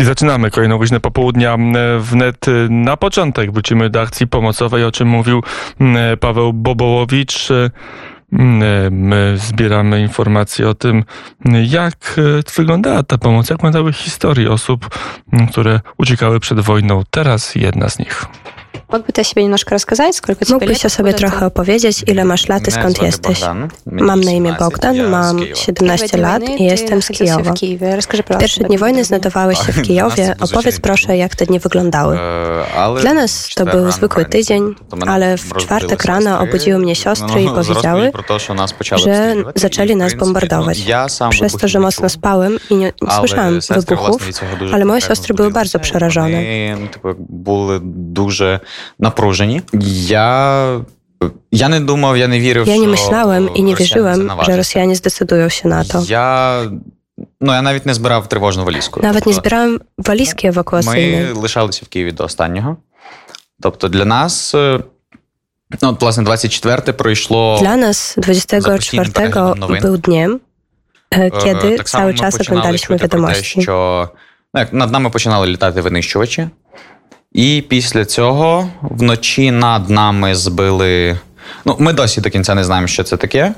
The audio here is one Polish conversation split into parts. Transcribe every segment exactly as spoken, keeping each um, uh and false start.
zaczynamy kolejną godzinę popołudnia wnet. Na początek wrócimy do akcji pomocowej, o czym mówił Paweł Bobołowicz. My zbieramy informacje o tym, jak wyglądała ta pomoc, jak wyglądały historie osób, które uciekały przed wojną. Teraz jedna z nich. Mógłby ty себе немножко рассказать, сколько тебе Mógłbyś o sobie trochę opowiedzieć, ile masz lat i skąd jesteś? Mam na imię Bogdan, mam siedemnaście lat i jestem z Kijowa. W pierwsze dni wojny znajdowałeś się w Kijowie. Opowiedz proszę, jak te dni wyglądały. Dla nas to był zwykły tydzień, ale w czwartek rano obudziły mnie siostry i powiedziały, że zaczęli nas bombardować. Przez to, że mocno spałem i nie, nie słyszałem wybuchów, ale moje siostry były bardzo przerażone. Były duże напружені. Я, я не думав, я не вірив, Ja nie myślałem i nie wierzyłem, że Rosjanie zdecydują się na to. Я, ну, я навіть не збирав тривожну валізку. Nawet nie zbierałem walizki ewakuacyjnej. Ми лишалися в Києві до останнього. Тобто для нас, no, власне, двадцять четверте пройшло... Dla nas dwudziestego czwartego był dniem, kiedy так cały само czas ми oglądaliśmy починали чути про те, wiadomości. що ну, як над нами починали літати винищувачі. І після цього вночі над нами збили... Ну, ми досі до кінця не знаємо, що це таке,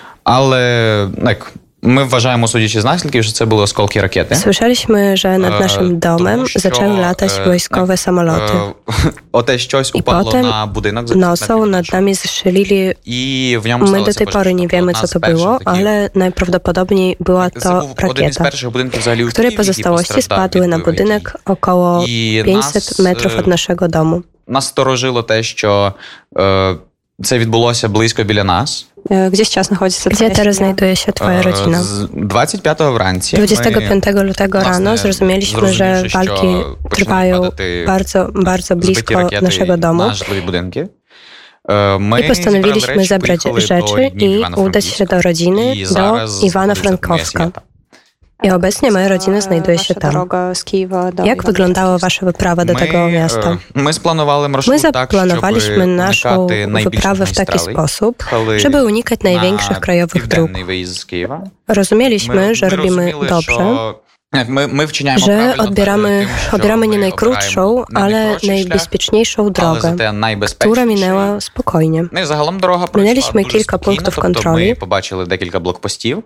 але як, ми вважаємо, судячи з наслідків, що це були осколки ракети. Słyszeliśmy, że nad naszym domem Тому що, zaczęły latać wojskowe samoloty. Оте щось I упало potem на будинок. за nocą nad nami zestrzelili. І в ньому My do сталося tej pory nie wiemy, co to było, ale najprawdopodobniej była Це to був один із rakieta, перших будинків взагалі у której Києві, який pozostałości постраждав spadły від na бойових дій. budynek około I pięćset nas, metrów od naszego domu. Нас сторожило те, що е, це відбулося близько біля нас. Gdzie сейчас находится Gdzie твоя teraz семья? znajduje się twoja Е, rodzina? з двадцять п'ятого вранці dwudziestego ми, piątego lutego власне, rano zrozumieliśmy, że зрозумівши, walki що почнуть trwają падати bardzo, bardzo збиті blisko ракети naszego domu. на житлові будинки. Е, Ми I postanowiliśmy зібрали zabrać речі, поїхали rzeczy до рідні в i udać się do rodziny, І do зараз Iwano-Frankowska. I obecnie moja rodzina znajduje się tam. Jak wyglądała wasza wyprawa do tego miasta? Ми спланували маршрут My так, zaplanowaliśmy щоб naszą уникати найбільших wyprawę w taki магістралей. sposób, Коли żeby unikać największych на krajowych dróg. південний виїзд з Києва. Rozumieliśmy, że robimy розуміли, dobrze, що Ми, ми вчиняємо że правильно odbieramy, тим, що odbieramy nie ми najkrótszą, обираємо не ale найкоротший шлях, najbezpieczniejszą але drogę, зате która найбезпечніший. minęła spokojnie. Ну і загалом дорога пройшла Minęliśmy дуже kilka спокійно, punktów тобто kontroli. ми побачили декілька блокпостів.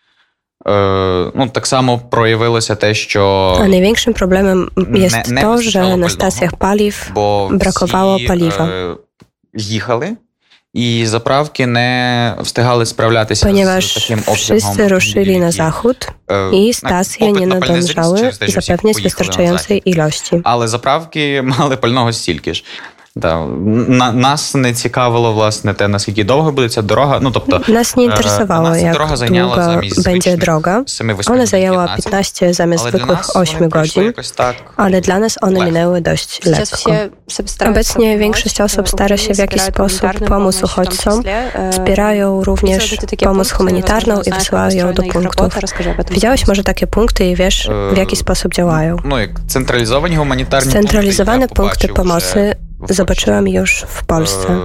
Е, ну, так само проявилося те, що A największym problemem jest не, не to, вистачало że na пального, stacjach paliw бо brakowało всі, paliwa. е, їхали, і заправки не встигали справлятися Ponieważ з таким обсягом wszyscy ruszyli na автомобілів, zachód е, i stacje попит nie на пальне зріс nadążały через те, що всі zapewniać поїхали на wystarczającej ilości. Але заправки мали пального стільки ж. Да. На, нас не цікавило, власне, те, наскільки довго буде ця дорога. Ну, тобто, Nas nie interesowało, jak długa będzie droga. Ona zajęła piętnaście zamiast zwykłych ośmiu godzin, ale dla nas one minęły dość lekko. Obecnie większość osób stara się w jakiś sposób pomóc uchodźcom, wspierają również pomoc humanitarną i wysyłają ją do punktów. Widziałeś może takie punkty i wiesz, w jaki sposób działają? Scentralizowane punkty pomocy zobaczyłam już w Polsce.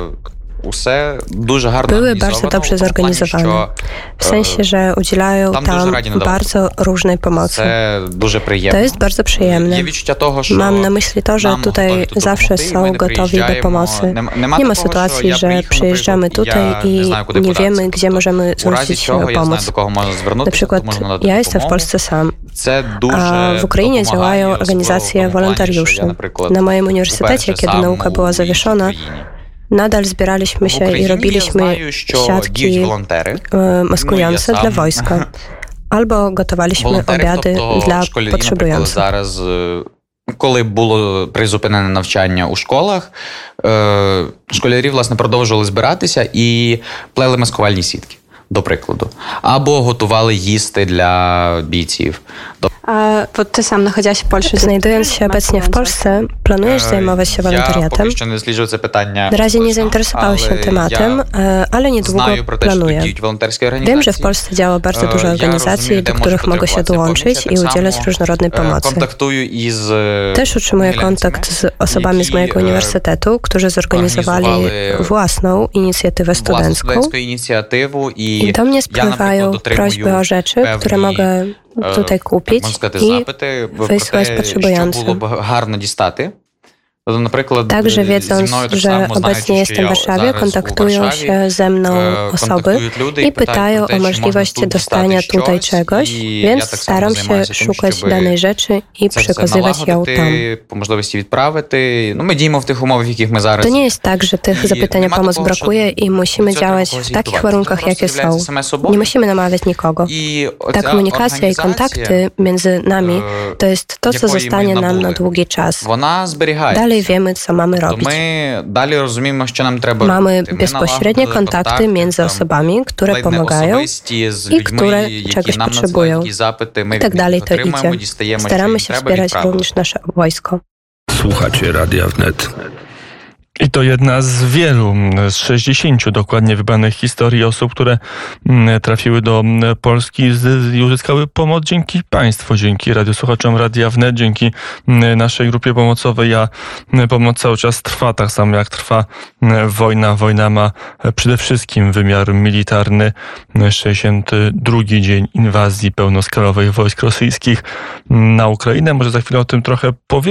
Były bardzo dobrze zorganizowane. W sensie, że udzielają tam bardzo różnej pomocy. To jest bardzo przyjemne. Mam na myśli to, że tutaj zawsze są gotowi do pomocy. Nie ma sytuacji, że przyjeżdżamy tutaj i nie wiemy, gdzie możemy zwrócić się o pomoc. Na przykład ja jestem w Polsce sam, a w Ukrainie działają organizacje wolontariuszy. Na moim uniwersytecie, kiedy nauka była zawieszona, nadal zbieraliśmy się i robiliśmy siatki maskujące dla wojska. Albo gotowaliśmy obiady dla potrzebujących. Коли було призупинене навчання у школах, школярі, власне, продовжували збиратися і плели маскувальні сітки, до прикладу. Або готували їсти для бійців. A ty sam nachodziłaś w Polsce. Znajdując się obecnie w Polsce, planujesz zajmować się wolontariatem? Na razie nie zainteresowałem się tematem, ale niedługo planuję. Wiem, że w Polsce działa bardzo dużo organizacji, do których mogę się dołączyć i udzielać różnorodnej pomocy. Też utrzymuję kontakt z osobami z mojego uniwersytetu, którzy zorganizowali własną inicjatywę studencką i do mnie spływają prośby o rzeczy, które mogę tutaj kupić i wysłać potrzebującym. Що було б гарно дістати. Także wiedząc, że obecnie jestem w Warszawie, kontaktują się ze mną osoby i pytają o możliwość dostania tutaj czegoś, więc staram się szukać danej rzeczy i przekazywać ją tam. To nie jest tak, że tych zapytań o pomoc brakuje i musimy działać w takich warunkach, jakie są. Nie musimy namawiać nikogo. Ta komunikacja i kontakty między nami to jest to, co zostanie nam na długi czas. Dalej wiemy, co mamy robić. Mamy bezpośrednie kontakty między osobami, które pomagają i które czegoś potrzebują. I tak dalej to idzie. Staramy się wspierać również nasze wojsko. Słuchacie Radia Wnet. I to jedna z wielu, z sześćdziesięciu dokładnie wybranych historii osób, które trafiły do Polski i uzyskały pomoc dzięki państwu, dzięki radiosłuchaczom Radia Wnet, dzięki naszej grupie pomocowej, a pomoc cały czas trwa, tak samo jak trwa wojna. Wojna ma przede wszystkim wymiar militarny. sześćdziesiąty drugi dzień inwazji pełnoskalowej wojsk rosyjskich na Ukrainę. Może za chwilę o tym trochę powiem.